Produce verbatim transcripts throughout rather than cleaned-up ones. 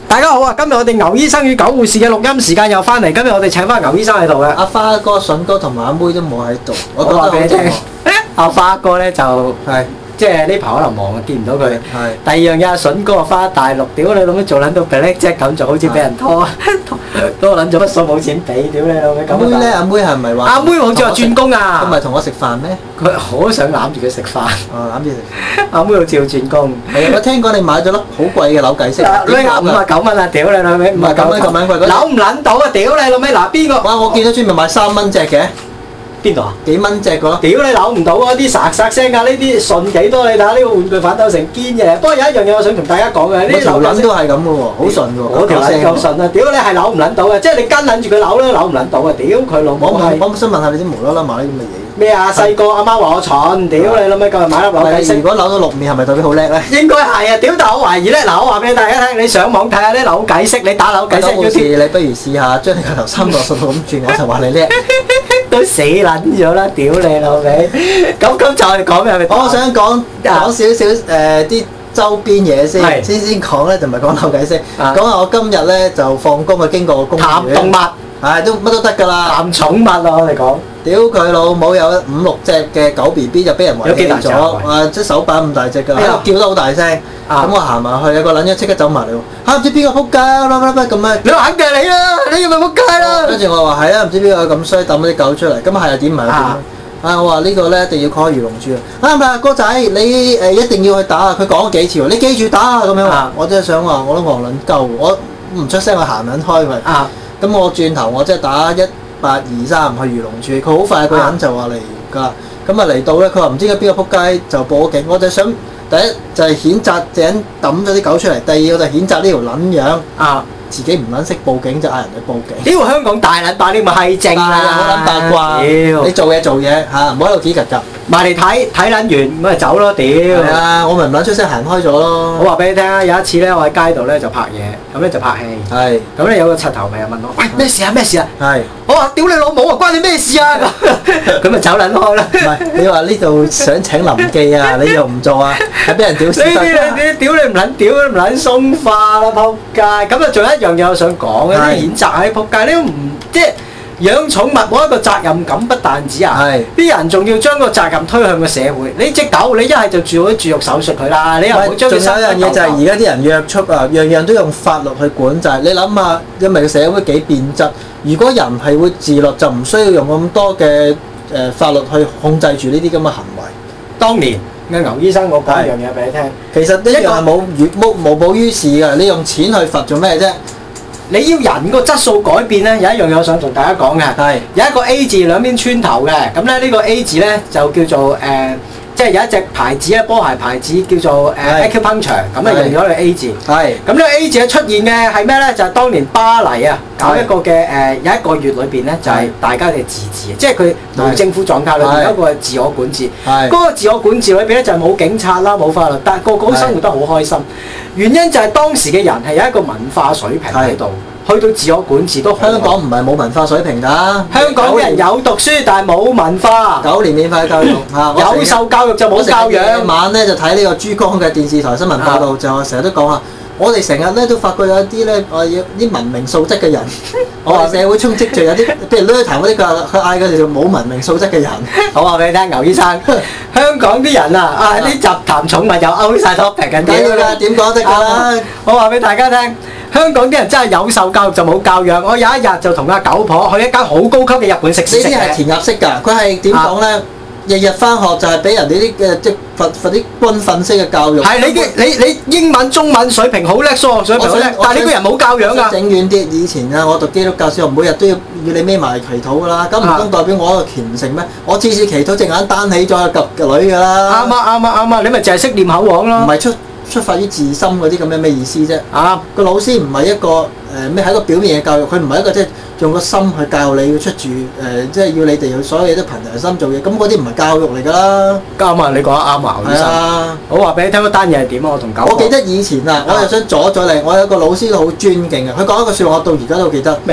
大家好啊！今日我哋牛醫生與狗護士嘅錄音時間又翻嚟，今日我哋請翻牛醫生喺度嘅。 阿花哥、筍哥同埋阿妹都冇喺度， 我話俾你聽，阿花哥咧就係。即係呢排可能忙啊，見唔到佢。係。第二樣嘢，阿筍哥翻大陸，屌你老味做撚到 black jack 咁，就好似俾人拖，拖撚咗筆數冇錢俾，屌你老味咁。 阿妹咧，阿妹係咪話？ 阿妹好似話轉工啊。 佢咪同我食飯咩？ 佢好想攬住佢食飯。 哦，攬住食。阿妹好似要轉工。係啊， 我聽講你買咗粒好貴嘅扭計骰。 呢五啊九蚊啊！屌你老味，五啊九蚊咁撚貴。扭唔撚到啊！屌你老味，嗱邊個？ 哇！我見到專門賣三蚊隻嘅。 邊度啊？ 幾蚊隻個咯？ 屌你扭唔到啊！啲沙沙聲㗎，呢啲順幾多？你睇下呢個玩具反斗成堅嘅。不過有一樣嘢我想同大家講嘅，呢條撚都係咁嘅喎，好順嘅喎。 嗰條撚夠順啊！屌你係扭唔撚到嘅，即係你跟撚住佢扭咧，扭唔撚到啊！屌佢老母係！ 我想問下你啲無啦啦買啲咁嘅嘢。 咩啊？細個阿媽話我蠢，屌你老味，今日買粒扭計骰。 如果扭到六面係咪代表好叻咧？ 應該係啊！屌，但我懷疑咧，嗱，我話俾大家聽，你上網睇下啲扭計骰，你打扭計骰嗰啲， 你不如試下將你個頭三百六十度咁轉，我就話你叻。 都死撚咗啦！屌你老味！咁咁就係講咩？ 我想講講少少誒啲周邊嘢先，先先講咧就唔係講扭計骰，講下我今日咧就放工啊經過個公園。談動物，係都乜都得㗎啦。談寵物啊！我哋講。屌佢老母有五六隻嘅狗 B B 就俾人遺棄咗，啊即手板咁大隻㗎，叫得好大聲。咁我行埋去，有個撚樣即刻走埋嚟喎，嚇唔知邊個撲街啦啦啦咁樣。你話肯定係你啦，你係咪撲街啦？跟住我話係啊，唔知邊個咁衰抌啲狗出嚟，咁係又點唔係點？啊我話呢個咧一定要 call 漁農處啊！唔係哥仔，你誒一定要去打啊！佢講咗幾次喎，你記住打啊咁樣話。我真係想話，我都戇撚鳩，我唔出聲，我行撚開佢。啊！咁我轉頭我即係打一八二三去漁農處，佢好快個人就話嚟㗎，咁啊嚟到咧，佢話唔知點解邊個撲街就報警，我就想第一就係譴責井抌咗啲狗出嚟，第二我就譴責呢條撚樣啊，自己唔撚識報警就嗌人去報警。 屌香港大撚把啲咁嘅閪精啊， 好撚八卦，你做嘢做嘢嚇，唔好喺度指曱甴。埋嚟睇睇撚完，咁咪走咯！屌，係啊，我咪唔撚出聲行開咗咯。我話俾你聽啊，有一次咧，我喺街度咧就拍嘢，咁咧就拍戲。係。咁咧有個柒頭咪又問我：喂，咩事啊？咩事啊？係。我話：屌你老母啊！關你咩事啊？咁，咁咪走撚開啦。唔係，你話呢度想請臨記啊，你又唔做啊？係俾人屌屎忽。你你屌你唔撚屌，唔撚鬆化啦，仆街！咁啊，仲有一樣嘢我想講嘅，啲譴責喺仆街，你都唔即係。養寵物冇一個責任感，不但止啊！啲人仲要將個責任推向個社會。你隻狗，你一係就做啲絕育手術佢啦，你又唔好將佢生。仲有一樣嘢就係而家啲人約束啊，樣樣都用法律去管制。你諗下，因為個社會幾變質，如果人係會自律，就唔需要用咁多嘅誒法律去控制住呢啲咁嘅行為。當年嘅牛醫生，我講一樣嘢俾你聽，其實呢樣係冇無無補於事嘅。你用錢去罰做咩啫？你要人個質素改變咧，有一樣嘢我想同大家講嘅，係有一個 A 字兩邊穿頭嘅，咁咧呢個 A 字咧就叫做誒、呃，即係有一隻牌子咧，波鞋牌子叫做誒 Acupuncture，咁啊用咗個 A 字。係咁呢個 A 字嘅出現嘅係咩咧？就係、是、當年巴黎啊搞一個嘅誒、呃，有一個月裏邊咧就係、是、大家嘅自治，即係佢無政府狀態裏邊有一個自我管治。係嗰個自我管治裏邊咧就係冇警察啦，冇法律，但係個個都生活得好開心。原因就係當時嘅人係有一個文化水平喺度，去到自我管治都好。香港唔係冇文化水平㗎，香港啲人有讀書但係冇文化。九年免費教育嚇，有受教育就冇教養。夜晚咧就睇呢個珠江嘅電視台新聞報導，就成日都講啊，我哋成日咧都發覺有啲咧，我要啲文明素質嘅人，我話社會充斥住有啲，譬如呢壇嗰啲佢佢嗌佢哋做冇文明素質嘅人。我話俾你聽，牛醫生，香港啲人啊，啊啲集談寵物又勾曬 topic 緊啲㗎，點講得㗎啦？我話俾大家聽。香港啲人真係有受教育就冇教養。我有一日就同阿狗婆去一間好高級嘅日本食肆食嘅。呢啲係填鴨式㗎，佢係點講咧？日日翻學就係俾人哋啲嘅即係罰罰啲軍訓式嘅教育。係你嘅你你英文中文水平好叻，數學水平好叻，但係呢個人冇教養㗎。整遠啲，以前啊，我讀基督教小學，每日都要要你孭埋祈禱㗎啦。咁唔通代表我一個虔誠咩？我次次祈禱隻眼單起咗及個女㗎啦。啱啊啱啊啱啊！你咪淨係識念口簧咯。唔係出。出發於自心嗰啲咁樣咩意思啫？啊，個老師唔係一個誒咩，係一個表面嘅教育，佢唔係一個即係用個心去教你要出住誒，即係要你哋所有嘢都憑良心做嘢，咁嗰啲唔係教育嚟㗎啦。啱啊，你講得啱啊，牛醫生。係啊，我話俾你聽嗰單嘢係點啊，我同狗。我記得以前啊，我又想阻咗你，我有個老師都好尊敬嘅，佢講一個説話，我到而家都記得。咩啊？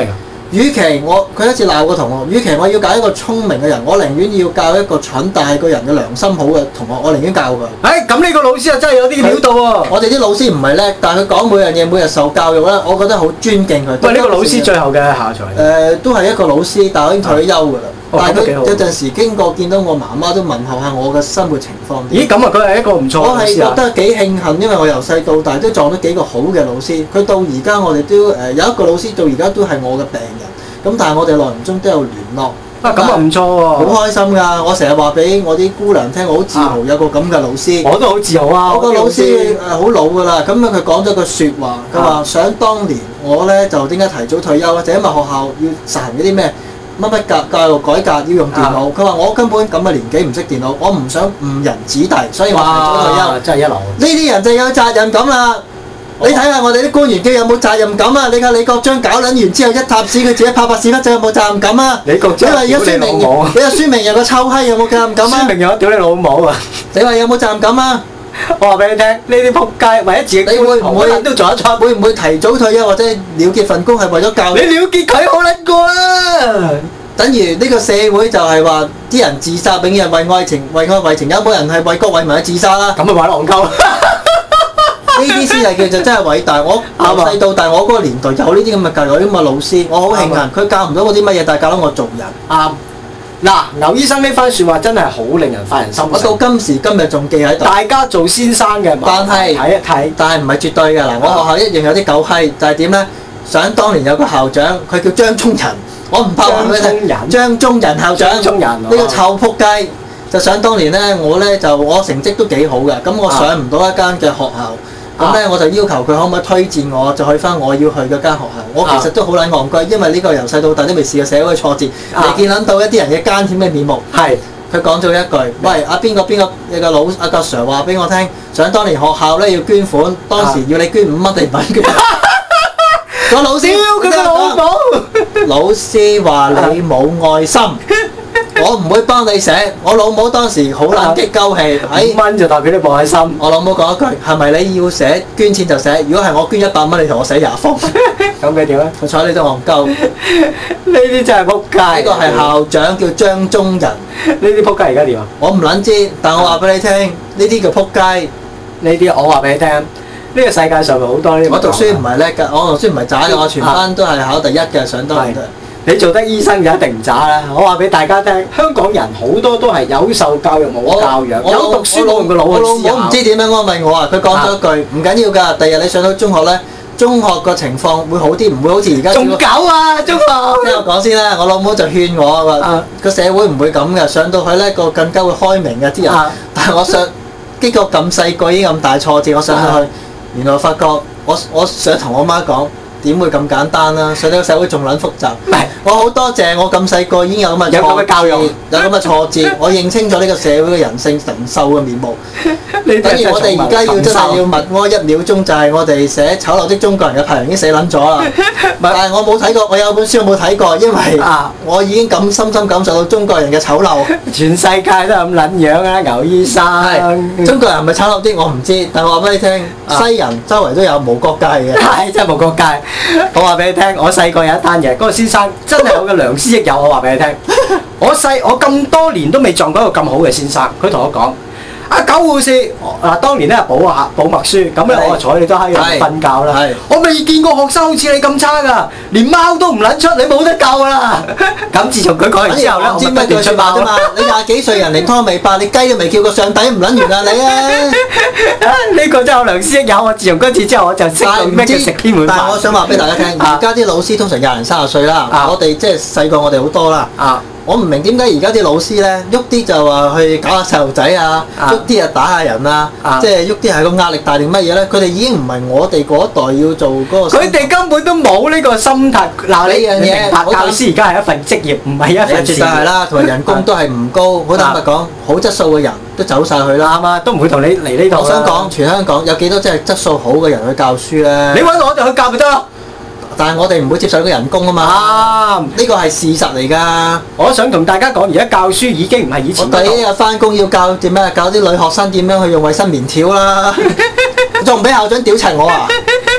與其我佢一次鬧個同學，與其我要教一個聰明嘅人，我寧願要教一個蠢但係個人嘅良心好嘅同學，我寧願教佢。 誒咁呢個老師啊真係有啲料到喎！ 我哋啲老師唔係叻，但係佢講每樣嘢每日受教育咧，我覺得好尊敬佢。 喂，呢個老師最後嘅下場？誒、 呃，都係一個老師，但係我已經退休㗎啦。 哦、 但係佢有陣時經過見到我媽媽都問候下我嘅生活情況。 咦，咁啊，佢係一個唔錯嘅老師啊！ 我係覺得幾慶幸，因為我由細到大都撞到幾個好嘅老師。佢到而家我哋都誒有一個老師到而家都係我嘅病人。咁但係我哋內唔中都有聯絡。 啊，咁啊唔錯喎！ 好開心㗎！我成日話俾我啲姑娘聽，我好自豪有個咁嘅老師。 我都好自豪啊！ 我個老師誒好老㗎啦，咁樣佢講咗句説話，佢話：想當年我咧就點解提早退休？就因為學校要實行嗰啲咩乜乜教教育改革要用電腦。佢話我根本咁嘅年紀唔識電腦，我唔想誤人子弟，所以我提早退休。 真係一流！ 呢啲人就有責任感啦。你睇下我哋啲官員嘅有冇責任感啊？你睇李國章搞撚完之後一塌屎，佢自己拍拍屎忽仔有冇責任感啊？ 李國章你話而家孫明揚，你話孫明揚個臭閪有冇責任感啊？ 孫明揚屌你老母啊！ 你話有冇責任感啊？ 我話俾你聽，呢啲撲街為咗自己， 你會唔會都做得出？ 會唔會提早退休或者了結份工係為咗教育？ 你了結佢好撚過啦！ 等於呢個社會就係話啲人自殺，永遠為愛情、為愛為情，有冇人係為國為民去自殺啦？ 咁咪話戇鳩。 呢啲先係叫做真係偉大。我由細到大，我嗰個年代有呢啲咁嘅教育，有啲咁嘅老師，我好慶幸。佢教唔到我啲乜嘢，但係教到我做人。 啱。嗱，牛醫生呢番説話真係好令人發人深省。 我到今時今日仲記喺度。 大家做先生嘅， 但係睇一睇， 但係唔係絕對㗎嗱。我學校一樣有啲狗閪，就係點咧？想當年有個校長，佢叫張忠仁，我唔怕話俾你聽。張忠仁校長， 張忠仁呢個臭撲街，就想當年咧，我咧就我成績都幾好嘅，咁我上唔到一間嘅學校。咁咧、啊、我就要求佢可唔可以推薦我，就去翻我要去嗰間學校。我其實都好撚戇居，因為呢個由細到大都未試過社會嘅挫折，未、啊、見撚到一啲人嘅艱險嘅面目。係佢講咗一句：喂，阿邊個邊個有個老阿個 Sir 話俾我聽，想當年學校咧要捐款，當時要你捐五蚊定唔捐？個老師佢個老母，老師話你冇愛心。我唔會幫你寫，我老母當時好撚激鳩氣， 五蚊就代表你冇愛心。 我老母講一句：係咪你要寫捐錢就寫？如果係我捐一百蚊，你同我寫廿封。 咁佢點咧？ 我睬你都戇鳩。 呢啲真係撲街。 呢個係校長叫張忠仁。 呢啲撲街而家點啊？ 我唔撚知，但我話俾你聽，呢啲叫撲街。 呢啲我話俾你聽，呢個世界上咪好多呢啲。 我讀書唔係叻㗎，我讀書唔係渣嘅，我全班都係考第一嘅，上當年。 你做得醫生就一定唔渣啦！我話俾大家聽，香港人好多都係有受教育冇教養，有讀書冇用個腦去思考。 我唔知點樣安慰我啊！佢講咗一句唔緊要㗎，第日你上到中學咧，中學個情況會好啲，唔會好似而家。 仲搞啊！中學。 聽我講先啦，我老母就勸我話：個社會唔會咁嘅，上到去咧個更加會開明嘅啲人。但係我上經過咁細個已經咁大挫折，我上到去，原來發覺我我想同我媽講。點會咁簡單啦？上到個社會仲撚複雜。唔係，我好多謝我咁細個已經有咁嘅挫折，有咁嘅挫折，我認清咗呢個社會嘅人性神獸嘅面目。等於我哋而家要真係要默哀一秒鐘，就係我哋寫醜陋的中國人嘅排名已經死撚咗啦。但係我冇睇過，我有本書我冇睇過，因為我已經咁深深感受到中國人嘅醜陋。 全世界都係咁撚樣啊！牛醫生， 中國人係咪醜陋啲？我唔知，但係我話俾你聽，西人周圍都有無國界嘅。 係真係無國界。我話俾你聽，我細個有一單嘢，嗰個先生真係我嘅良師益友。我話俾你聽，我細我咁多年都未撞過一個咁好嘅先生。佢同我講：阿狗護士，嗱當年咧補下補默書，咁咧我坐你都喺度瞓覺啦。我未見過學生好似你咁差噶，連貓都唔撚出，你冇得救啦。咁自從佢講完之後咧，我不斷出貓啫嘛。 你廿幾歲人連湯未拍，你雞都未叫過上帝唔撚完啊你啊！ 呢個真係我良師益友。我自從嗰次之後，我就識到咩叫食天碗飯。 但係我想話俾大家聽，而家啲老師通常廿零三十歲啦，我哋即係細過我哋好多啦。我唔明點解而家啲老師咧喐啲就話去搞下細路仔啊，喐啲啊打下人啊，即係喐啲係個壓力大定乜嘢咧？佢哋已經唔係我哋嗰一代要做嗰個。佢哋根本都冇呢個心態。嗱，呢樣嘢，教師而家係一份職業，唔係一份事業。絕對係啦，同埋人工都係唔高。好坦白講，好質素嘅人都走晒去啦，啱啊，都唔會同你嚟呢度。我想講，全香港有幾多真係質素好嘅人去教書咧？你揾我哋去教咪得咯。但係我哋唔會接受呢個人工啊嘛，啊，呢個係事實嚟㗎。我想同大家講，而家教書已經唔係以前。我第一日翻工要教點咩？教啲女學生點樣去用衞生棉條啦，仲唔俾校長屌柒我啊？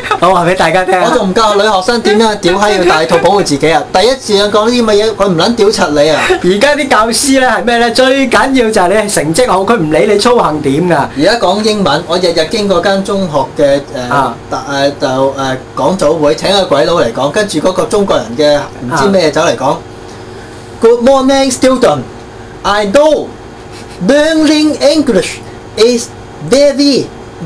我話俾大家聽， 我仲唔教女學生點樣屌閪要戴套保護自己啊！第一次講呢啲咁嘅嘢，佢唔撚屌柒你啊！ 而家啲教師咧係咩咧？最緊要就係你成績好，佢唔理你操行點㗎。 而家講英文，我日日經過間中學嘅誒誒就誒講早會請個鬼佬嚟講，跟住嗰個中國人嘅唔知咩走嚟講。Good morning, student. I know learning English is very,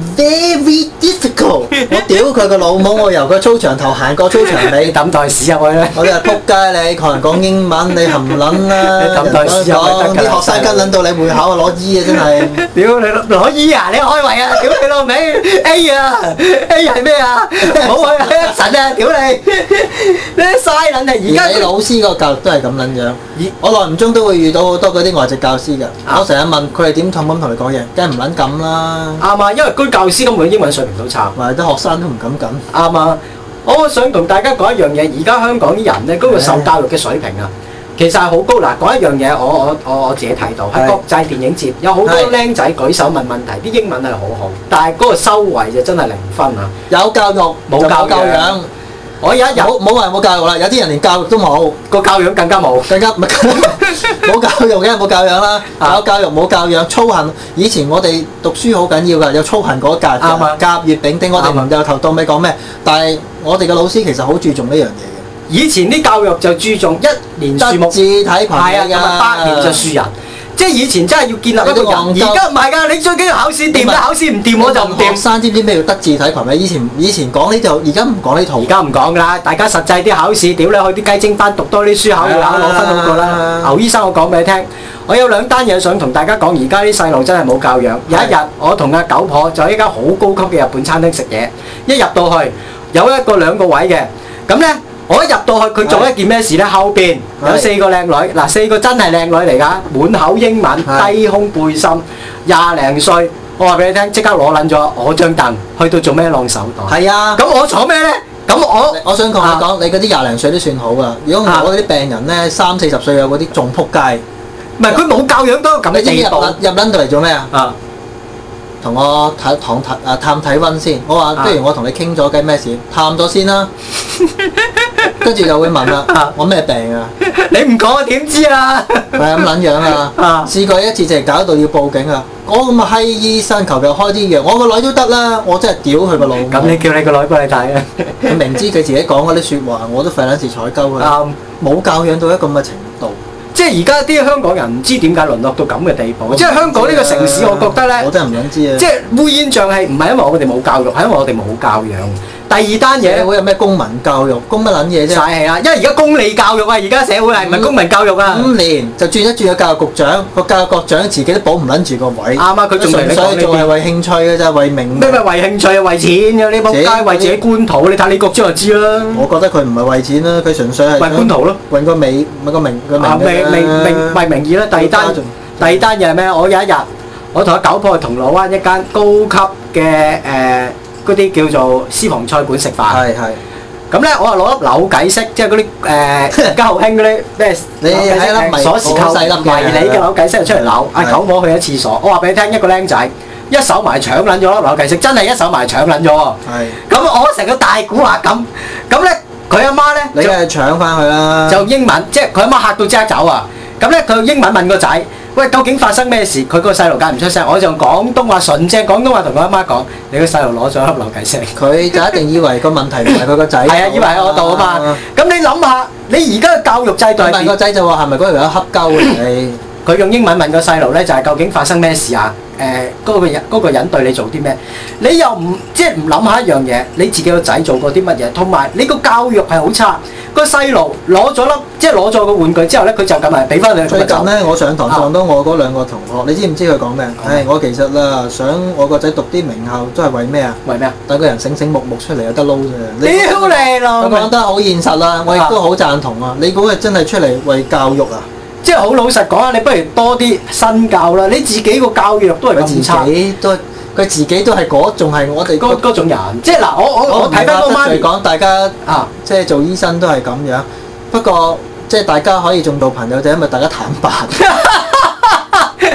very difficult. 我屌佢個老母！我由個操場頭行過操場尾， 抌袋屎入去咧！ 我哋話撲街你，同人講英文你含撚啦！ 你抌袋屎入去得㗎！ 啲學生跟撚到你會考啊攞 E 啊真係！ 屌你攞 E 啊！你開胃啊！屌你老味 A 啊 A 係咩啊？冇啊！神啊！屌你！你嘥撚啊！而家你老師個教育都係咁撚樣。我耐唔中都會遇到好多嗰啲外籍教師㗎。我成日問佢哋點同咁同你講嘢，梗係唔撚咁啦。 啱啊！因為嗰教師根本英文水平都差， 或者啲學生都唔敢咁。 啱啊！我想同大家講一樣嘢，而家香港啲人咧，嗰個受教育嘅水平啊，其實係好高。嗱，講一樣嘢，我我我我自己睇到喺國際電影節，有好多僆仔舉手問問題，啲英文係好好，但係嗰個收穫就真係零分啊！ 有教育冇教養。我有一日冇冇話冇教育啦，有啲人連教育都冇， 個教養更加冇， 更加唔係冇教育嘅冇教養啦，有教育冇教養，操行。以前我哋讀書好緊要㗎，有操行嗰一格嘅，甲乙丙丁，我哋唔由頭到尾講咩，但係我哋嘅老師其實好注重呢樣嘢嘅。 以前啲教育就注重一年樹木， 德智體群嘅， 咁啊百年就樹人。即係以前真係要建立一個人，而家唔係㗎，你最緊要考試掂啦，考試唔掂我就唔掂。學生知唔知咩叫德智體群咩？以前以前講呢就，而家唔講呢套。 而家唔講㗎啦，大家實際啲考試，屌你去啲雞精班讀多啲書，考要考攞分好過啦。牛醫生，我講俾你聽，我有兩單嘢想同大家講，而家啲細路真係冇教養。有一日我同阿九婆就喺間好高級嘅日本餐廳食嘢，一入到去有一個兩個位嘅，咁咧。我一入到去，佢做一件咩事咧？後邊有四個靚女，嗱四個真係靚女嚟㗎，滿口英文，低胸背心，廿零歲。我話俾你聽，即刻攞撚咗我張凳，去到做咩晾手袋？係啊。咁我坐咩咧？咁我我想同你講，你嗰啲廿零歲都算好㗎。如果我嗰啲病人咧，三四十歲有嗰啲仲撲街。 唔係佢冇教養都咁嘅地步。 入撚到嚟做咩啊？啊！同我睇探睇啊探體温先。我話不如我同你傾咗計咩事？探咗先啦。跟住就會問啦，啊、我咩病啊？ 你唔講我點知啊？ 係咁撚樣啊！啊試過一次就係搞到要報警啊！我咁啊閪醫生求其開啲藥，我個女都得啦，我真係屌佢個腦。 咁你叫你個女過嚟睇啊？ 佢明知佢自己講嗰啲説話，我都費撚事睬鳩佢。啱、嗯，冇教養到一個咁嘅程度。 即係而家啲香港人唔知點解淪落到咁嘅地步。即係香港呢個城市，我覺得咧， 我真係唔想知啊！ 即係烏煙瘴氣，唔係因為我哋冇教育，係因為我哋冇教養。第二單嘢， 社會有咩公民教育？公乜撚嘢啫？ 曬氣啦！因為而家公理教育啊，而家社會係唔係公民教育啊？ 五年就轉一轉個教育局長，個教育局長自己都保唔撚住個位。 啱啊！佢仲純粹做係為興趣嘅啫，為名。 咩咪為興趣啊？為錢嘅呢仆街，為自己官途。你睇李國章就知啦。 我覺得佢唔係為錢啦，佢純粹係為官途咯， 為個美，為個名個名。 啊，名名名為名義啦。第二單，第二單嘢係咩？我有一日，我同阿九婆去銅鑼灣一間高級嘅誒。嗰啲叫做私房菜館食飯，係係。咁咧，我係攞粒扭計骰，即係嗰啲誒而家好興嗰啲咩？ 你係一粒鎖匙扣細粒迷你嘅扭計骰出嚟扭。阿九婆去咗廁所，我話俾你聽，一個僆仔一手埋搶撚咗粒扭計骰，真係一手埋搶撚咗喎。係。咁我成個大估下咁，咁咧佢阿媽咧， 你係搶翻佢啦。 就英文，即係佢阿媽嚇到即刻走啊！咁咧佢英文問個仔。喂，究竟發生咩事？佢個細路梗唔出聲，我就用廣東話純正廣東話同佢阿媽講：你個細路攞咗粒扭計骰。佢就一定以為個問題唔係佢個仔。 係啊，以為喺我度啊嘛。咁你諗下，你而家嘅教育制度係點？ 問個仔就話係咪嗰條友恰鳩你？ 佢用英文問個細路咧，就係究竟發生咩事啊？誒，嗰個人嗰個人對你做啲咩？你又唔即係唔諗下一樣嘢？你自己個仔做過啲乜嘢？同埋你個教育係好差。個細路攞咗粒，即係攞咗個玩具之後咧，佢就咁係俾翻你。 最近咧，我上堂撞到我嗰兩個同學，你知唔知佢講咩？唉，我其實啦，想我個仔讀啲名校，都係為咩啊？為咩啊？等個人醒醒目目出嚟有得撈啫。 屌你老！ 我講得好現實啦，我亦都好贊同啊！你估佢真係出嚟為教育啊？ 即係好老實講啊！你不如多啲身教啦！你自己個教育都係咁差。 自己都佢自己都係嗰，仲係我哋嗰嗰種人。即係嗱，我我我睇翻個媽咪講，大家啊，即係做醫生都係咁樣。不過即係大家可以仲做朋友，就因為大家坦白。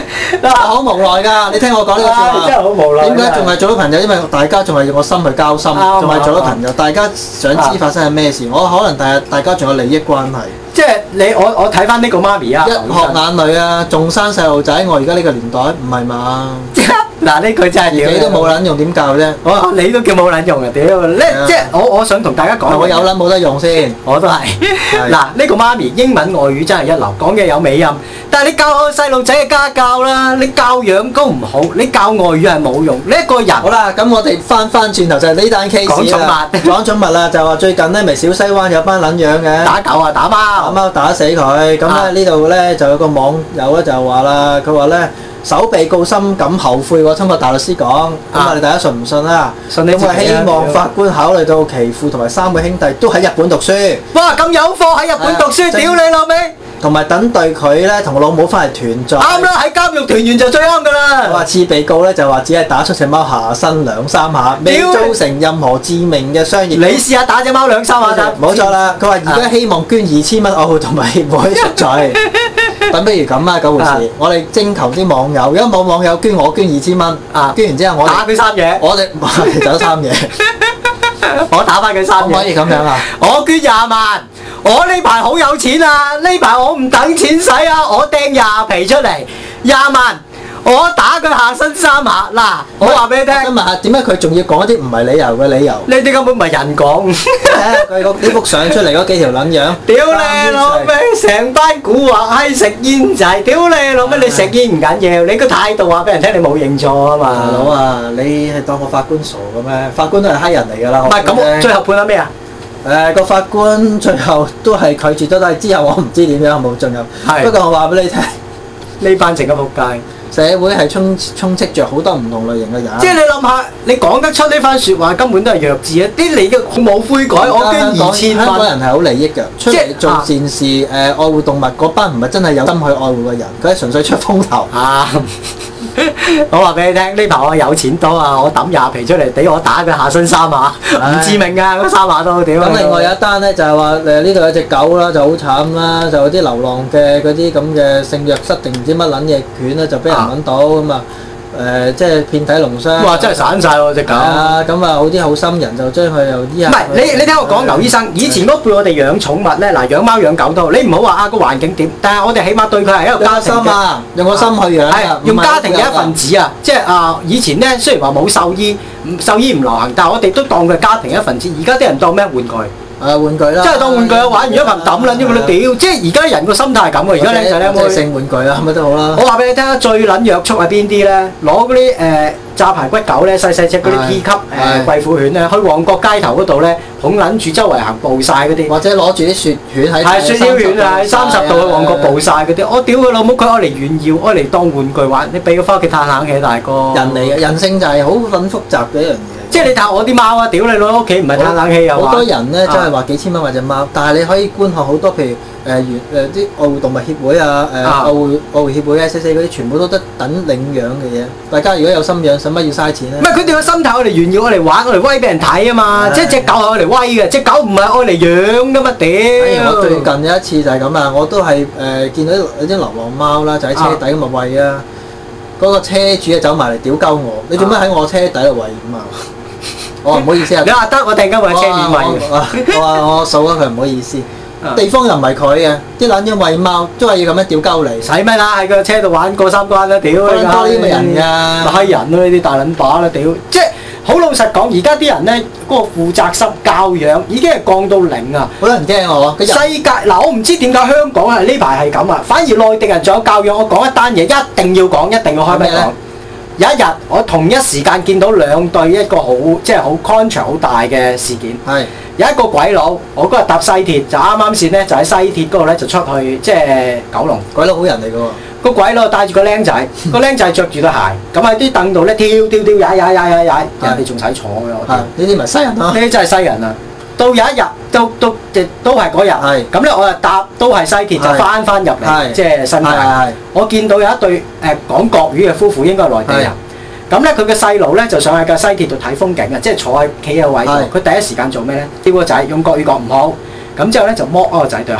好無奈㗎，你聽我講呢個説話， 真係好無奈。 點解仲係做咗朋友？因為大家仲係用個心去交心，仲係做咗朋友。大家想知發生係咩事，我可能第日大家仲有利益關係。 即係你我我睇翻呢個媽咪啊，一學眼淚啊，仲生細路仔，我而家呢個年代唔係嘛？ 嗱呢句真係自己都冇撚用，點教啫？ 我你都叫冇撚用啊！屌，咧即係我我想同大家講， 我有撚冇得用先， 我都係。嗱呢個媽咪英文外語真係一流，講嘢有美音。但係你教個細路仔嘅家教啦，你教養都唔好，你教外語係冇用。你一個人好啦，咁我哋翻翻轉頭就係呢單 case 講寵物， 講寵物啦，就話最近咧咪小西灣有班撚樣嘅打狗啊打貓， 打貓打死佢。咁咧呢度咧就有個網友咧就話啦，佢話咧。首被告深感後悔喎，親個大律師講，咁啊你大家信唔信啊？ 信你自己啊！ 咁啊希望法官考慮到其父同埋三個兄弟都喺日本讀書。 哇！咁有貨喺日本讀書，屌你老味！ 同埋等待佢咧同個老母翻嚟團聚。 啱啦，喺監獄團圓就最啱噶啦。 話次被告咧就話只係打出隻貓下身兩三下，未造成任何致命嘅傷害。 你試下打隻貓兩三下得。 冇錯啦，佢話而家希望捐二千蚊愛護動物協會贖罪。咁不如咁啊，嗰回事，我哋徵求啲網友，如果冇網友捐，我捐二千蚊。啊，捐完之後我打佢三嘢， 我哋走三嘢， 我打翻佢三嘢。 可唔可以咁樣啊？ 我捐廿萬，我呢排好有錢啊！呢排我唔等錢使啊，我掟廿皮出嚟，廿萬。我打佢下身三下，嗱，我話俾你聽。我想問下， 點解佢仲要講一啲唔係理由嘅理由？ 呢啲根本唔係人講。 佢個呢幅相出嚟嗰幾條撚樣。 屌你老味，成班古惑閪食煙仔，屌你老味，你食煙唔緊要，你個態度話俾人聽你冇認錯啊嘛。 大佬啊，你係當個法官傻嘅咩？法官都係閪人嚟㗎啦。 唔係咁，最後判咗咩啊？ 誒個法官最後都係拒絕咗，但係之後我唔知點樣冇進入。係。不過我話俾你聽，呢班成個仆街。社會係充充斥着好多唔同類型嘅人。即係你諗下，你講得出呢番説話根本都係弱智啊！啲你嘅冇悔改，我捐二千蚊。香港人係好利益嘅，出嚟做善事誒、呃、愛護動物嗰班唔係真係有心去愛護嘅人，佢係純粹出風頭。啊！我話俾你聽，呢排我有錢多啊！我抌廿皮出嚟，俾我打佢下身三下，唔致命㗎，嗰三下都屌。咁另外有一單咧，就係話誒呢度有隻狗啦，就好慘啦，就有啲流浪嘅嗰啲咁嘅性虐失定唔知乜撚嘢犬咧，就俾人揾到咁啊誒，即係遍體鱗傷。哇！真係散晒喎隻狗。啊，咁啊好啲好心人就將佢又醫下。唔係你你聽我講，牛醫生，以前嗰輩我哋養寵物咧，嗱養貓養狗都好，你唔好話啊個環境點，但係我哋起碼對佢係一個家庭嘅，用個心去養。係用家庭嘅一份子啊！即係啊，以前咧雖然話冇獸醫，獸醫唔流行，但係我哋都當佢係家庭一份子。而家啲人當咩玩具？誒玩具啦，真係當玩具啊！玩完一盆抌撚啫嘛，你屌！即係而家人個心態係咁啊！而家靚仔靚妹性玩具啊，乜都好啦。我話俾你聽啊，最撚約束係邊啲咧？攞嗰啲誒炸排骨狗咧，細細隻嗰啲 P 級誒貴婦犬咧，去旺角街頭嗰度咧，捧撚住周圍行步晒嗰啲，或者攞住啲雪犬喺係雪橇犬啊，三十度去旺角步晒嗰啲，我屌佢老母，佢愛嚟炫耀，愛嚟當玩具玩，你俾佢翻屋企嘆冷氣，大哥。人嚟嘅人性就係好撚複雜嘅一樣嘢。即係你睇我啲貓啊！屌你攞屋企唔係嘆冷氣又好多人咧，真係話幾千蚊買隻貓，但係你可以觀看好多，譬如誒原誒啲愛護動物協會啊、誒愛護愛護協會 S C C 嗰啲，全部都得等領養嘅嘢。大家如果有心養，使乜要嘥錢咧？唔係佢哋個心態，我嚟炫耀，我嚟玩，我嚟威俾人睇啊嘛！即係隻狗係我嚟威嘅，隻狗唔係我嚟養噶嘛屌！我最近有一次就係咁啊，我都係誒見到有啲流浪貓啦，就喺車底咁啊餵啊，嗰個車主啊走埋嚟屌鳩我，你做咩喺我車底度餵咁啊？我唔好意思啊！你話得我突然間會喺車面餵嘅，我話我數咗佢唔好意思。地方又唔係佢嘅，啲撚樣餵貓都係要咁樣屌鳩嚟，使咩啦？喺個車度玩過三關啦，屌！多啲咁嘅人㗎，閪人咯呢啲大撚把啦，屌！即係好老實講，而家啲人咧嗰個負責心教養已經係降到零啊！好多人驚我。世界嗱，我唔知點解香港係呢排係咁啊，反而內地人仲有教養。我講一單嘢，一定要講，一定要開咩講？有一日，我同一時間見到兩對一個好即係好 contrast 好大嘅事件。係是有一個鬼佬，我嗰日搭西鐵就啱啱線咧，就喺西鐵嗰度咧就出去即係九龍。鬼佬好人嚟㗎喎。個鬼佬帶住個僆仔，個僆仔着住對鞋，咁喺啲凳度咧跳跳跳踩踩踩踩踩，人哋仲使坐㗎我。係呢啲咪西人啊？呢啲真係西人啊！到有一日，都都亦都係嗰日，咁咧我就搭都係西鐵，就翻翻入嚟，即係新界。我見到有一對誒講國語嘅夫婦，應該係內地人。咁咧佢嘅細路咧就上喺架西鐵度睇風景啊，即係坐喺企喺位度。佢第一時間做咩咧？叫個仔用國語講唔好，咁之後咧就剝嗰個仔對鞋，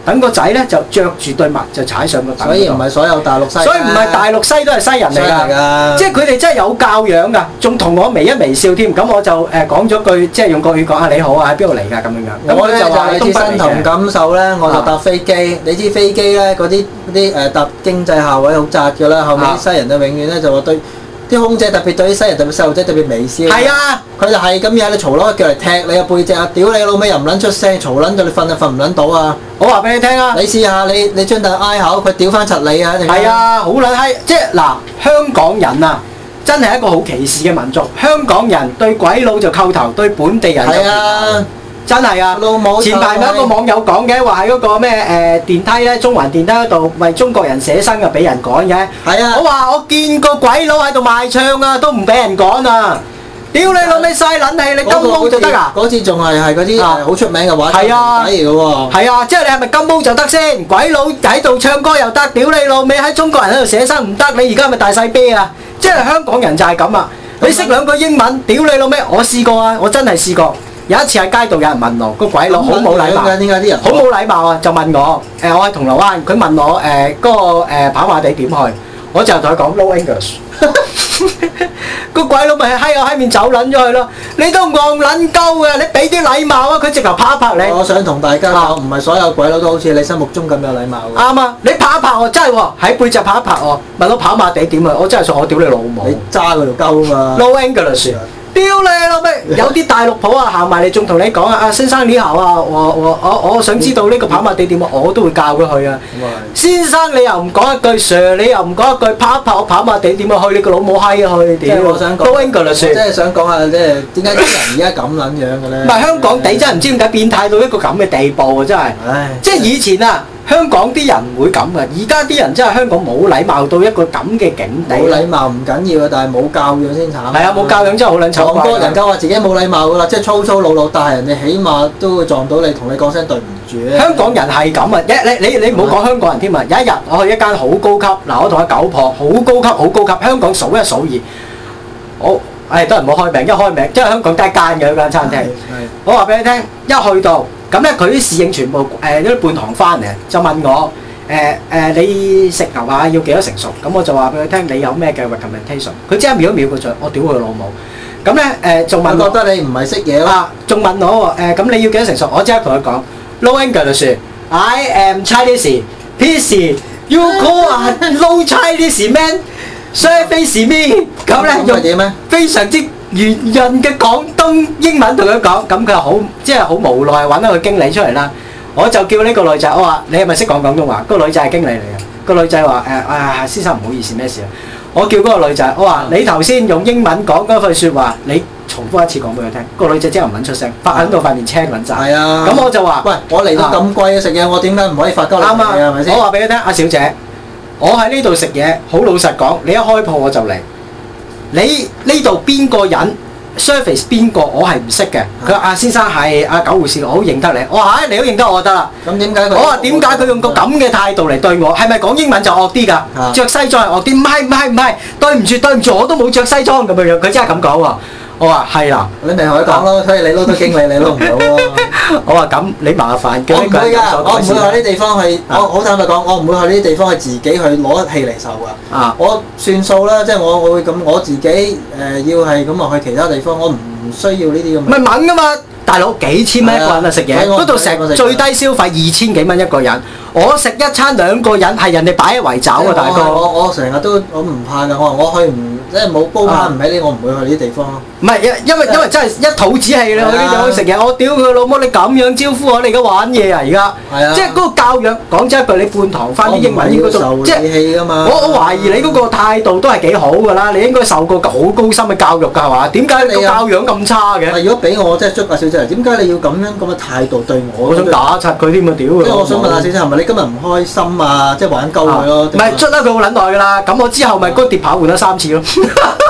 等個仔咧就着住對襪就踩上個凳。 所以唔係所有大陸西。 所以唔係大陸西都係西人嚟㗎，即係佢哋真係有教養㗎，仲同我微一微笑添。咁我就誒講咗句，即係用國語講下你好啊，喺邊度嚟㗎咁樣樣。 我咧就係切身同感受咧，我就搭飛機。你知飛機咧嗰啲啲誒搭經濟客位好窄㗎啦，後面啲西人就永遠咧就話對。啲空姐特別對啲西人特別細路仔特別微笑。係啊，佢就係咁樣喺度嘈攞腳嚟踢你個背脊啊！屌你老味又唔撚出聲，嘈撚到你瞓就瞓唔撚到啊！我話俾你聽啊！你試下你你張凳挨口，佢屌翻柒你啊！ 係啊，好撚閪！即係嗱，香港人啊，真係一個好歧視嘅民族。香港人對鬼佬就叩頭，對本地人就係啊！真係啊！老母前排咪一個網友講嘅，話喺嗰個咩誒電梯咧，中環電梯嗰度為中國人寫生啊，俾人趕嘅。係啊！我話我見過鬼佬喺度賣唱啊，都唔俾人趕啊！屌你老味嘥撚氣，你金毛就得啊！嗰次仲係係嗰啲好出名嘅話題嚟嘅喎。係啊，即係你係咪金毛就得先？鬼佬喺度唱歌又得，屌你老味喺中國人喺度寫生唔得，你而家係咪大細啤啊？即係香港人就係咁啊！你識兩句英文，屌你老味！我試過啊，我真係試過。有一次喺街度有人問我，個鬼佬好冇禮貌，點解啲人好冇禮貌啊？就問我，誒、呃、我喺銅鑼灣，佢問我誒嗰、呃那個誒、呃、跑馬地點去，我就同佢講 no English。個鬼佬咪喺我喺面走撚咗去咯，你都戇撚鳩嘅，你俾啲禮貌啊！佢直頭拍一拍你。我想同大家講，唔係所有鬼佬都好似你心目中咁有禮貌。啱啊！你拍一拍我，真係喎，喺背脊拍一拍我，問我跑馬地點啊！我真係想我屌你老母。你揸佢條鳩啊嘛 ！no English。屌你老味！有啲大陸婆啊行埋嚟，仲同你講啊，阿先生你好啊，我我我我想知道呢個跑馬地點啊，我都會教佢去啊。先生你又唔講一句 Sir， 你又唔講一句拍一拍我跑馬地點啊，去你個老母閪去！即係我想講，都 English。即係想講下，即係點解啲人而家咁撚樣嘅咧？唔係香港地真係唔知點解變態到一個咁嘅地步啊！真係，即係以前啊。香港啲人唔會咁嘅，而家啲人真係香港冇禮貌到一個咁嘅境地。冇禮貌唔緊要啊，但係冇教養先慘。係啊，冇教養真係好撚醜怪。撞多人家話自己冇禮貌噶啦，即係粗粗魯魯，但係人哋起碼都會撞到你，同你講聲對唔住咧。香港人係咁啊！一你你你唔好講香港人添啊！有一日我去一間好高級，嗱我同阿九婆好高級好高級，香港數一數二。我誒都唔好開名，一開名即係香港得一間嘅嗰間餐廳。我話俾你聽，一去到。咁咧，佢啲侍應全部誒啲半堂翻嚟，就問我誒誒、呃呃，你食牛扒要幾多成熟？咁我就話俾佢聽，你有咩嘅 recommendation？佢即刻秒一秒佢就，我屌佢老母！咁咧誒，仲、呃、問我覺得你唔係識嘢啦，仲問我誒，咁、呃、你要幾多成熟？我即刻同佢講 ，no English，I am Chinese，please you call a no Chinese man，surface me。咁咧用點咧？非常之圓潤嘅廣東英文同佢講，咁佢好即係好無奈揾一個經理出嚟啦。我就叫呢個女仔，我話你係咪識講廣東話？個女仔係經理嚟嘅。個女仔話誒啊，先生唔好意思，咩事啊？我叫嗰個女仔，我話你頭先用英文講嗰句説話，你重複一次講俾佢聽。個女仔即係唔肯出聲，發喺到塊面青撚曬。係啊。咁我就話：喂，我嚟到咁貴嘅食嘢，我點解唔可以發鳩你？啱啊，係咪先？我話俾你聽，阿小姐，我喺呢度食嘢，好老實講，你一開鋪我就嚟。你呢度邊個人 service 邊個我係唔識嘅。佢話阿先生係阿九護士，我好認得你。我話唉，你都認得我就得啦。咁點解佢？我話點解佢用個咁嘅態度嚟對我？係咪講英文就惡啲㗎？着西裝係惡啲？唔係唔係唔係，對唔住對唔住，我都冇着西裝咁樣樣。佢真係咁講喎。我話係啦，你咪同佢講咯，所以你撈到經理，你撈唔到咯。我話咁，你麻煩叫呢個人所改善。我唔會去呢啲地方去，我好坦白講，我唔會去呢啲地方去自己去攞氣嚟受㗎。啊，我算數啦，即係我我會咁，我自己誒要係咁啊去其他地方，我唔需要呢啲咁。唔係猛㗎嘛，大佬幾千蚊一個人啊食嘢，嗰度成最低消費二千幾蚊一個人，我食一餐兩個人係人哋擺喺圍找㗎，大哥。我我成日都我唔怕㗎，我話我去唔即係冇煲翻唔喺呢，我唔會去呢啲地方咯。唔係，因因為因為真係一肚子氣你去呢地方食嘢，我屌佢老母！你咁樣招呼我，你而家玩嘢啊而家？係啊！即係嗰個教養，講真一句，你半堂翻啲英文應該都即係我我懷疑你嗰個態度都係幾好㗎啦，你應該受過好高深嘅教育㗎係嘛？點解你個教養咁差嘅？如果俾我即係捉阿小姐，點解你要咁樣咁嘅態度對我？我想打柒佢添啊！屌佢！即係我想問阿小姐係咪你今日唔開心啊？即係玩鳩佢咯？唔係捉得佢好撚耐㗎啦，咁我之後咪嗰碟扒換咗三次咯。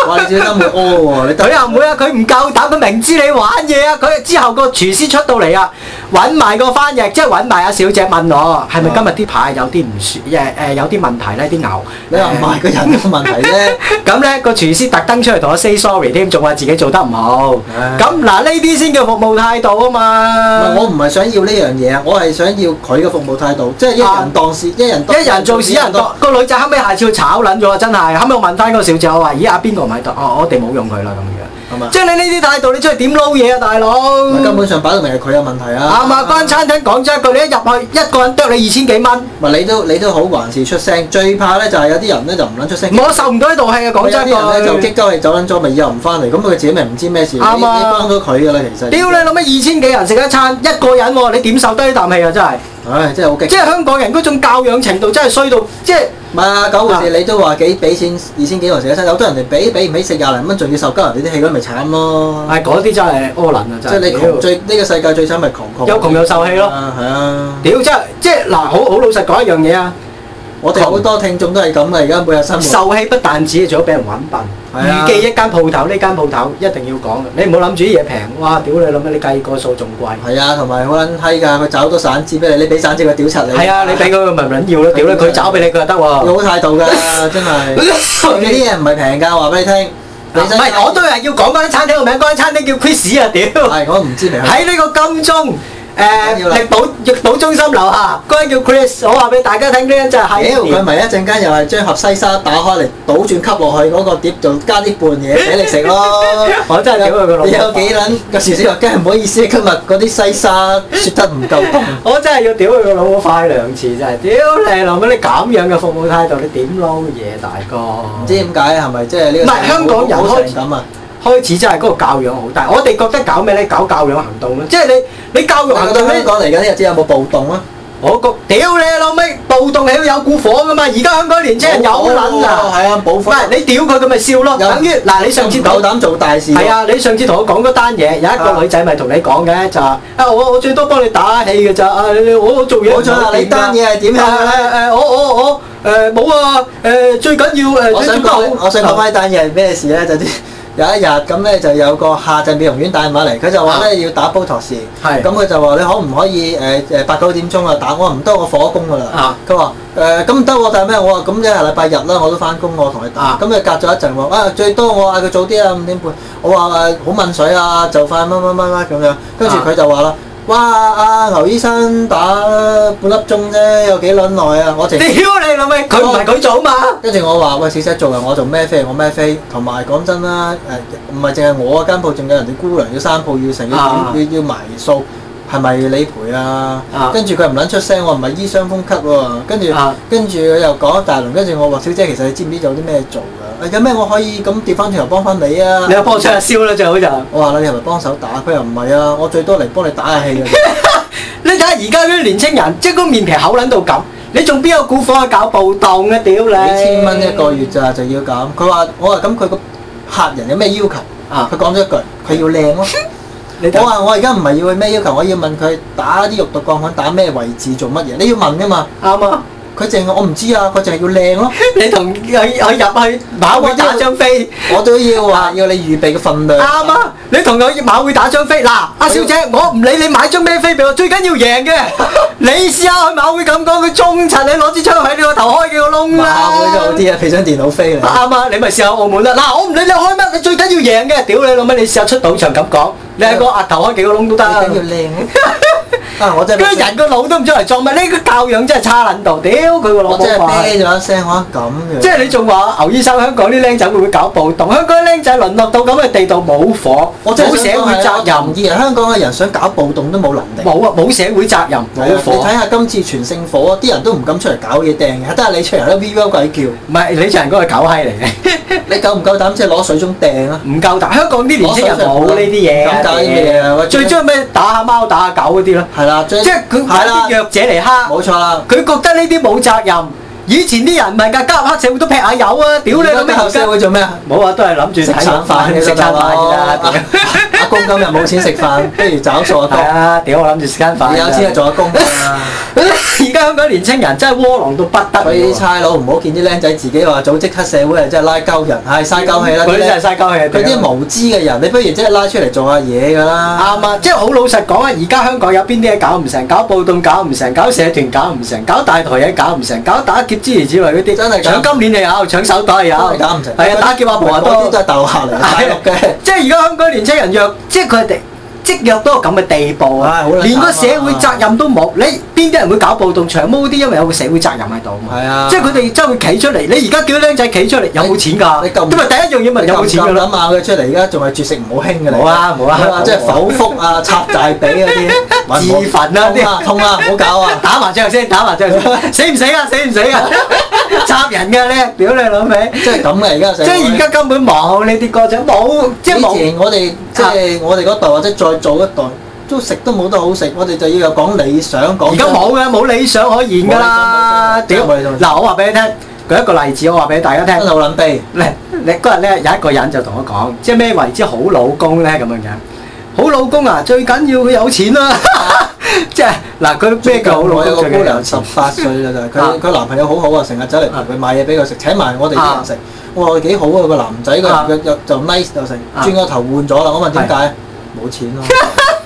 哇！你小心會屙喎， 佢又唔會啊，佢唔夠膽，佢明知你玩嘢啊，佢之後個廚師出到嚟啊，揾埋個翻譯，即係揾埋阿小姐問我係咪今日啲牌有啲唔舒誒誒有啲問題咧？啲牛你話唔係個人有問題啫。 咁咧個廚師特登出嚟同我 say sorry 添，仲話自己做得唔好。咁嗱呢啲先叫服務態度啊嘛。 我唔係想要呢樣嘢啊，我係想要佢嘅服務態度，即係一人當事，一人一人做事一人當。個女仔後尾下次要炒撚咗啊！真係後尾我問翻嗰個小姐，我話：咦阿邊個唔喺度？哦，我哋冇用佢啦咁樣。即係你呢啲態度，你出去點撈嘢啊，大佬？ 根本上擺到明係佢有問題啊！ 啱啊！間餐廳講真一句，你一入去一個人啄你二千幾蚊。 唔係你都你都好還是出聲，最怕咧就係有啲人咧就唔撚出聲。 我受唔到呢道氣啊！講真， 有啲人咧就激鳩氣走撚咗，咪以後唔翻嚟，咁佢自己咪唔知咩事。啱啊！你幫咗佢㗎啦，其實。屌你諗咩？二千幾人食一餐，一個人喎，你點受得呢啖氣啊？真係。唉，真係好激！ 即係香港人嗰種教養程度真係衰到，即係唔係啊？九回事你都話幾俾錢二千幾個人食一餐，有多人哋俾俾唔起食廿零蚊，仲要受鳩人哋啲氣，咁咪慘咯！ 係嗰啲真係柯撚啊！真係。即係你窮最呢個世界最慘咪窮窮。 有窮有受氣咯。 係啊！ 屌真係即係嗱，好好老實講一樣嘢啊！ 我哋好多聽眾都係咁啊！而家每日生活受氣不但止，仲要俾人揾笨。預記一間鋪頭，呢間鋪頭一定要講嘅。你唔好諗住啲嘢平，哇！屌你諗咩？你計個數仲貴。係啊， 同埋好撚閪㗎，佢找好多散紙俾你，你俾散紙佢屌柒你。 係啊，你俾佢咪唔撚要咯？屌咧，佢找俾你佢就得喎。 要好態度㗎，真係。你啲嘢唔係平㗎，話俾你聽。 唔係，我都係要講嗰間餐廳個名，嗰間餐廳叫 Chris 啊！屌。 係，我唔知名。 喺呢個金鐘。誒力寶力寶中心樓下嗰間叫 Chris，我話俾大家聽，呢間真係係。 屌佢咪一陣間又係將盒西沙打開嚟倒轉吸落去嗰個碟度，加啲拌嘢俾你食咯。 我真係屌佢個老母！ 你有幾撚個廚師話：梗係唔好意思，今日嗰啲西沙雪得唔夠凍。 我真係要屌佢個老母快兩次，真係屌你老母！你咁樣嘅服務態度，你點撈嘢大哥？ 唔知點解係咪即係呢個？ 唔係香港人開始咁啊！ 開始真係嗰個教養好大，我哋覺得搞咩咧？搞教養行動咯，即係你你教育行動咧。 香港嚟緊呢日子有冇暴動啊？ 我覺屌你老味，暴動係要有股火噶嘛！而家香港年青人有撚啊！ 係啊，冇火。唔係你屌佢，佢咪笑咯。等於嗱，你上次夠膽做大事。 係啊，你上次同我講嗰單嘢，有一個女仔咪同你講嘅就話：啊，我我最多幫你打氣嘅咋，啊我我做嘢。 冇錯啦，你單嘢係點樣咧？ 誒我我我誒冇啊！誒最緊要誒。 我想講，我想講翻單嘢係咩事咧？就啲。有一日咁咧，就有個下陣美容院打電話嚟，佢就話咧要打 Botox，咁佢就話你可唔可以誒誒八九點鐘啊打？我話唔得，我火工㗎啦。佢話誒咁唔得喎，但係咩？我話咁一係禮拜日啦，我都翻工，我同你打。咁佢隔咗一陣喎，啊最多我嗌佢早啲啊五點半。我話誒好問水啊，就快乜乜乜乜咁樣。跟住佢就話啦。哇！阿牛醫生打半粒鐘啫，有幾撚耐啊？我淨屌你老味，佢唔係佢做嘛？ 跟住我話喂，小姐做人，我做咩飛？我咩飛？同埋講真啦，誒唔係淨係我間鋪，仲有人哋姑娘要三鋪要成要點要要埋數，係咪理賠啊？跟住佢唔撚出聲，我唔係醫傷風咳喎。跟住跟住佢又講一大輪，跟住我話小姐，其實你知唔知有啲咩做㗎？有咩我可以咁調翻轉頭幫翻你啊？ 你又幫我出下燒啦，最好就。 我話你係咪幫手打？佢又唔係啊，我最多嚟幫你打下氣嘅。 你睇下而家嗰啲年青人，即係個面皮厚撚到咁，你仲邊有股火去搞暴動啊？屌你！ 幾千蚊一個月咋就要咁？佢話我話咁佢個客人有咩要求？啊！佢講咗一句，佢要靚咯。我話我而家唔係要佢咩要求，我要問佢打啲肉毒桿粉打咩位置做乜嘢？你要問㗎嘛？啱啊！佢淨係我唔知啊，佢淨係要靚咯。你同佢佢入去馬會打張飛，我都要話要你預備嘅份量。啱啊！你同佢馬會打張飛，嗱，阿小姐，我唔理你買張咩飛俾我，最緊要贏嘅。你試下去馬會咁講，佢中柒你攞支槍喺你個頭開幾個窿啦。馬會就好啲啊，俾張電腦飛嚟。啱啊！你咪試下澳門啦。嗱，我唔理你開乜，你最緊要贏嘅。屌你老味，你試下出賭場咁講，你喺個額頭開幾個窿都得。最緊要靚。啊！我真係嗰人個腦都唔出嚟撞，咪呢個教養真係差撚到，屌佢個老母！我真係啤咗一聲，我咁嘅。即係你仲話牛醫生香港啲僆仔會唔會搞暴動？香港啲僆仔淪落到咁嘅地度冇火，冇社會責任。而家香港嘅人想搞暴動都冇能力。冇啊！冇社會責任，冇火。你睇下今次全聖火，啲人都唔敢出嚟搞嘢掟嘅，得係你出嚟都 V V 鬼叫。唔係你出嚟嗰個狗閪嚟嘅。你夠唔夠膽即係攞水中掟啊？唔夠膽！香港啲年輕人冇呢啲嘢。咁搞啲咩啊？最中意咩打下貓打下狗嗰啲咯。係啦，即係佢係啲弱者嚟蝦。冇錯啦。佢覺得呢啲冇責任， 以前啲人唔係㗎，加入黑社會都劈下友啊！屌你老味！ 黑社會做咩啊？ 冇啊，都係諗住食餐飯嘅食餐飯㗎啦。 阿公今日冇錢食飯，不如找數阿公。 係啊！屌我諗住食餐飯。 你有錢就做阿公啊！ 而家香港年青人真係窩囊到不得。 所以啲差佬唔好見啲僆仔自己話組織黑社會啊，真係拉鳩人，係嘥鳩氣啦！ 佢啲真係嘥鳩氣。 佢啲無知嘅人，你不如即係拉出嚟做下嘢㗎啦。 啱啊！即係好老實講啊！而家香港有邊啲嘢搞唔成？搞暴動搞唔成，搞社團搞唔成，搞大台嘢搞唔成，搞打劫之類之類嗰啲。真係搶金鏈又有，搶手袋又有。 真係搞唔成。 係啊，打劫阿婆啊都。 嗰啲都係大陸客嚟，大陸嘅。 即係而家香港年青人弱，即係佢哋。積弱到咁嘅地步啊！連個社會責任都冇，你邊啲人會搞暴動長毛啲？因為有個社會責任喺度嘛。係啊，即係佢哋真係會企出嚟。你而家叫啲僆仔企出嚟，有冇錢㗎？咁咪第一樣嘢咪有冇錢㗎咯？ 諗下佢出嚟，而家仲係絕食唔好興嘅嚟。 冇啊冇啊！ 即係剖腹啊、插大髀嗰啲， 自焚啊啲， 痛啊！唔好搞啊！ 打麻將先，打麻將先，死唔死啊？死唔死啊？插人㗎你，屌你老味！ 即係咁嘅而家社會。 即係而家根本冇呢啲歌仔，冇即係冇。 以前我哋即係我哋嗰代或者再早一代。都食都冇得好食，我哋就要有講理想講。而家冇嘅，冇理想可言㗎啦！屌，嗱我話俾你聽，舉一個例子，我話俾大家聽。 真係好撚悲。 你你嗰日咧有一個人就同我講，即係咩為之好老公咧咁樣樣？好老公啊，最緊要佢有錢啦！即係嗱，佢咩叫好老公？ 我有個姑娘十八歲啦，就係佢佢男朋友好好啊，成日走嚟陪佢買嘢俾佢食，請埋我哋啲人食。我話幾好啊，個男仔個又就 nice 就成，轉個頭換咗啦。我問點解？冇錢咯。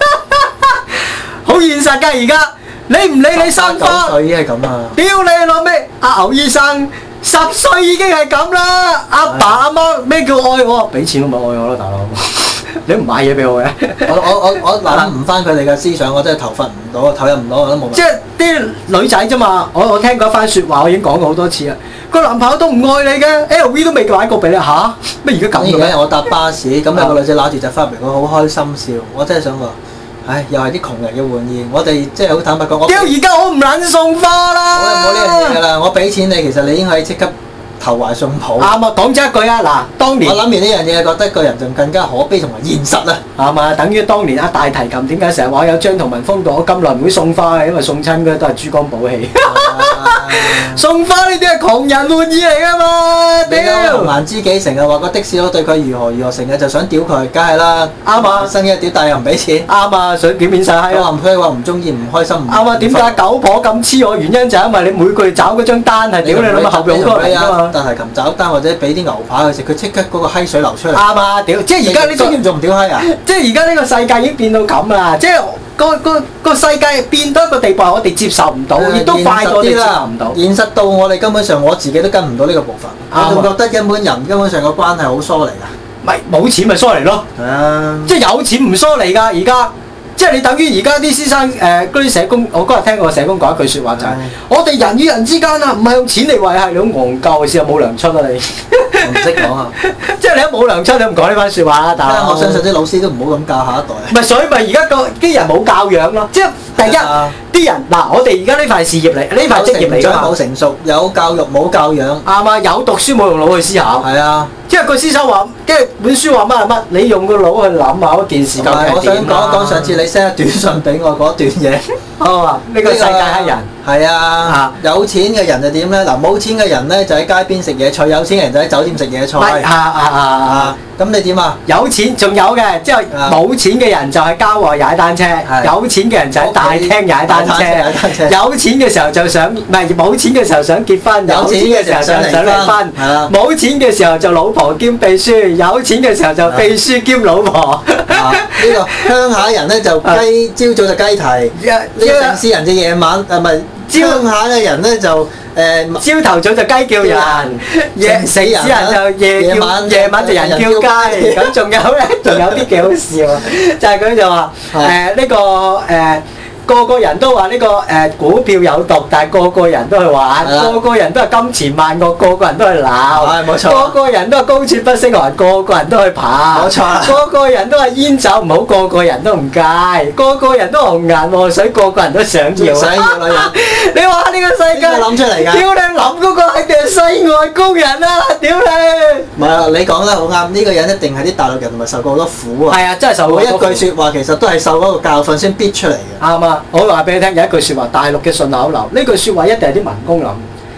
好現實㗎而家，你唔理你生花， 十歲已經係咁啊！ 屌你老味，阿牛醫生十歲已經係咁啦！阿爸阿媽咩叫愛我？俾錢都咪愛我咯，大佬！你唔買嘢俾我嘅？ 我我我我諗唔翻佢哋嘅思想，我真係投入唔到，投入唔到我都冇。 即係啲女仔啫嘛，我我聽過一番説話，我已經講過好多次啦。個男朋友都唔愛你嘅 ，L V 都未買過俾你嚇，咩而家咁嘅？ 而家我搭巴士，咁有個女仔揦住隻花瓶，佢好開心笑，我真係想話。唉，又係啲窮人嘅玩意，我哋即係好坦白講，我屌而家我唔撚送花啦！ 我冇呢樣嘢㗎啦，我俾錢你，其實你已經可以即刻投懷送抱。 啱啊，講真一句啊，嗱，當年我諗完呢樣嘢，覺得個人仲更加可悲同埋現實啊！ 啱啊，等於當年阿大提琴點解成日話有張同文封到我咁耐唔會送花嘅，因為送親嘅都係珠光寶氣。送花呢啲係窮人玩意嚟㗎嘛！屌， 紅顏知己成日話個的士佬對佢如何如何，成日就想屌佢，梗係啦。 啱啊， 新嘅屌但又唔俾錢。 啱啊，想表面晒閪啊！佢話唔中意唔開心。 啱啊，點解九婆咁黐我？原因就係因為你每個月找嗰張單係屌你諗下後邊好多人㗎嘛。 大提琴找單或者俾啲牛扒佢食，佢即刻嗰個閪水流出嚟。 啱啊，屌！即係而家呢種仲唔屌閪啊？ 即係而家呢個世界已經變到咁啦，即係。個個個世界變到一個地步，我哋接受唔到，亦都快過我哋接受唔到。 現實到我哋根本上我自己都跟唔到呢個部分。我仲覺得一般人根本上個關係好疏離㗎。 咪冇錢咪疏離咯。係啊，即係有錢唔疏離㗎。而家即係你等於而家啲先生誒嗰啲社工，我嗰日聽過社工講一句説話就係：我哋人與人之間啊，唔係用錢嚟維係，你好戇鳩嘅事，有冇糧出啊你？ 我唔識講啊！ 即係你都冇糧出，你唔講呢番説話啦。但係我相信啲老師都唔好咁教下一代。 唔係，所以咪而家個啲人冇教養咯。即係第一啲人嗱，我哋而家呢塊事業嚟，呢塊職業嚟㗎嘛。 冇成熟，有教育冇教養。 啱啊！有讀書冇用腦去思考。係啊。即係個思想話，即係本書話乜係乜，你用個腦去諗下嗰件事究竟係點啊！ 我想講一講上次你 send 短信俾我嗰段嘢。 好啊！呢個世界黑人。 係啊。有錢嘅人就點咧？嗱，冇錢嘅人咧就喺街邊食野菜，有錢嘅人就喺酒店食野菜。 係啊啊啊啊！ 咁你點啊？ 有錢仲有嘅，即係冇錢嘅人就喺郊外踩單車，有錢嘅人就喺大廳踩單車。有錢嘅時候就想，唔係冇錢嘅時候想結婚，有錢嘅時候就想離婚。係啦。冇錢嘅時候就老婆兼秘書，有錢嘅時候就秘書兼老婆。 呢個鄉下人咧就雞，朝早就雞啼；呢個城市人就夜晚，誒唔係鄉下嘅人咧就。 誒朝頭早就雞叫人，夜死人就夜叫，夜晚就人叫雞。咁仲有咧，仲有啲幾好笑，就係佢就話誒呢個誒個個人都話呢個誒股票有毒，但係個個人都去玩，個個人都係金錢萬惡，個個人都去鬧，冇錯，個個人都係高處不勝寒，個個人都去爬，冇錯，個個人都係煙酒唔好，個個人都唔戒，個個人都紅顏禍水，個個人都想要， 想要女人。 你話呢個世界諗出嚟㗎？ 屌你諗嗰個係定係世外高人啊！屌你！ 唔係啊，你講得好啱，呢個人一定係啲大陸人同埋受過好多苦啊。 係啊，真係受過。 每一句説話其實都係受嗰個教訓先逼出嚟嘅。 啱啊！我話俾你聽，有一句説話，大陸嘅順口溜，呢句説話一定係啲民工諗。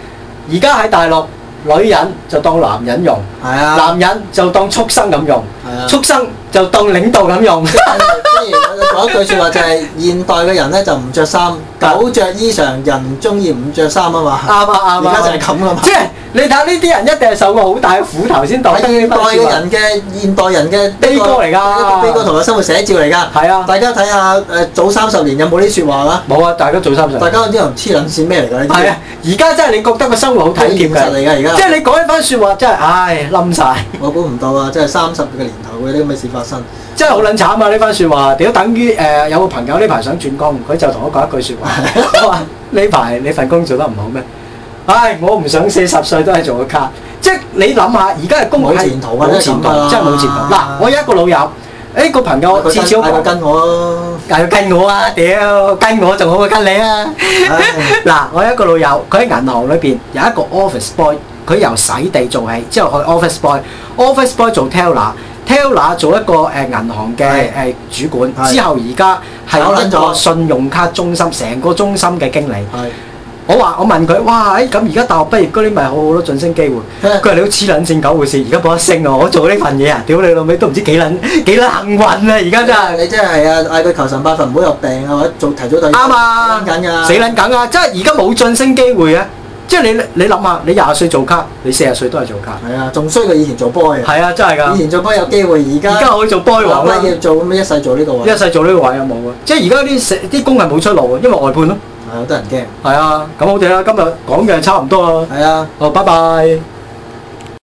而家喺大陸，女人就當男人用，係啊，男人就當畜生咁用，係啊，畜生就當領導咁用。即係講一句説話就係現代嘅人咧就唔着衫，狗着衣裳，人中意唔着衫啊嘛。 啱啊啱啊！ 而家就係咁啊嘛。 即係你睇呢啲人一定係受過好大嘅苦頭先當得呢番説話。現代嘅人嘅現代人嘅悲歌嚟㗎，一個悲歌同埋生活寫照嚟㗎。 係啊， 大家睇下誒早三十年有冇呢啲説話啊？ 冇啊！大家早三十年。 大家啲人黐撚線咩嚟㗎？ 係啊！而家真係你覺得個生活好體貼㗎。 嚟㗎而家。 即係你講一番説話真係唉冧曬。 我估唔到啊！真係三十個年頭會有啲咁嘅事發生。 真係好撚慘啊！呢番説話，屌等於誒、呃、有個朋友呢排想轉工，佢就同我講一句説話，我話呢排你份工做得唔好咩？唉，我唔想四十歲都係做個卡，即係你諗下，而家嘅工係冇前途啊！ 冇前途，真係冇前途。嗱，我有一個老友，誒、欸、個朋友至少佢跟我咯， 嗌佢跟我啊！屌，跟我仲好過跟你啊！嗱，我有一個老友，佢喺銀行裏邊有一個 office boy，佢由洗地做起，之後去 office boy，office boy 做 teller。Teller 做一個誒銀行嘅誒主管，之後而家係一個信用卡中心，成個中心嘅經理。我話我問佢，哇！誒咁而家大學畢業嗰啲咪好好多晉升機會？佢話你好黐撚線狗回事，而家冇得升啊！我做呢份嘢啊，屌你老味都唔知幾撚幾撚幸運啊！而家真係你真係啊！嗌佢求神拜佛唔好有病啊，或者做提早退休。 啱啊！ 死撚緊㗎！ 死撚緊啊！即係而家冇晉升機會啊！即係你你諗下，你廿歲做卡，你四十歲都係做卡。 係啊，仲衰過以前做 boy。 係啊，真係㗎。 以前做 boy 有機會，而家而家可以做 boy 王啦。 要做咁樣一世做呢個位。 一世做呢個位啊冇啊！即係而家啲啲工係冇出路啊，因為外判咯。 係好多人驚。 係啊，咁好哋啦，今日講嘅差唔多啦。 係啊， 好，拜拜。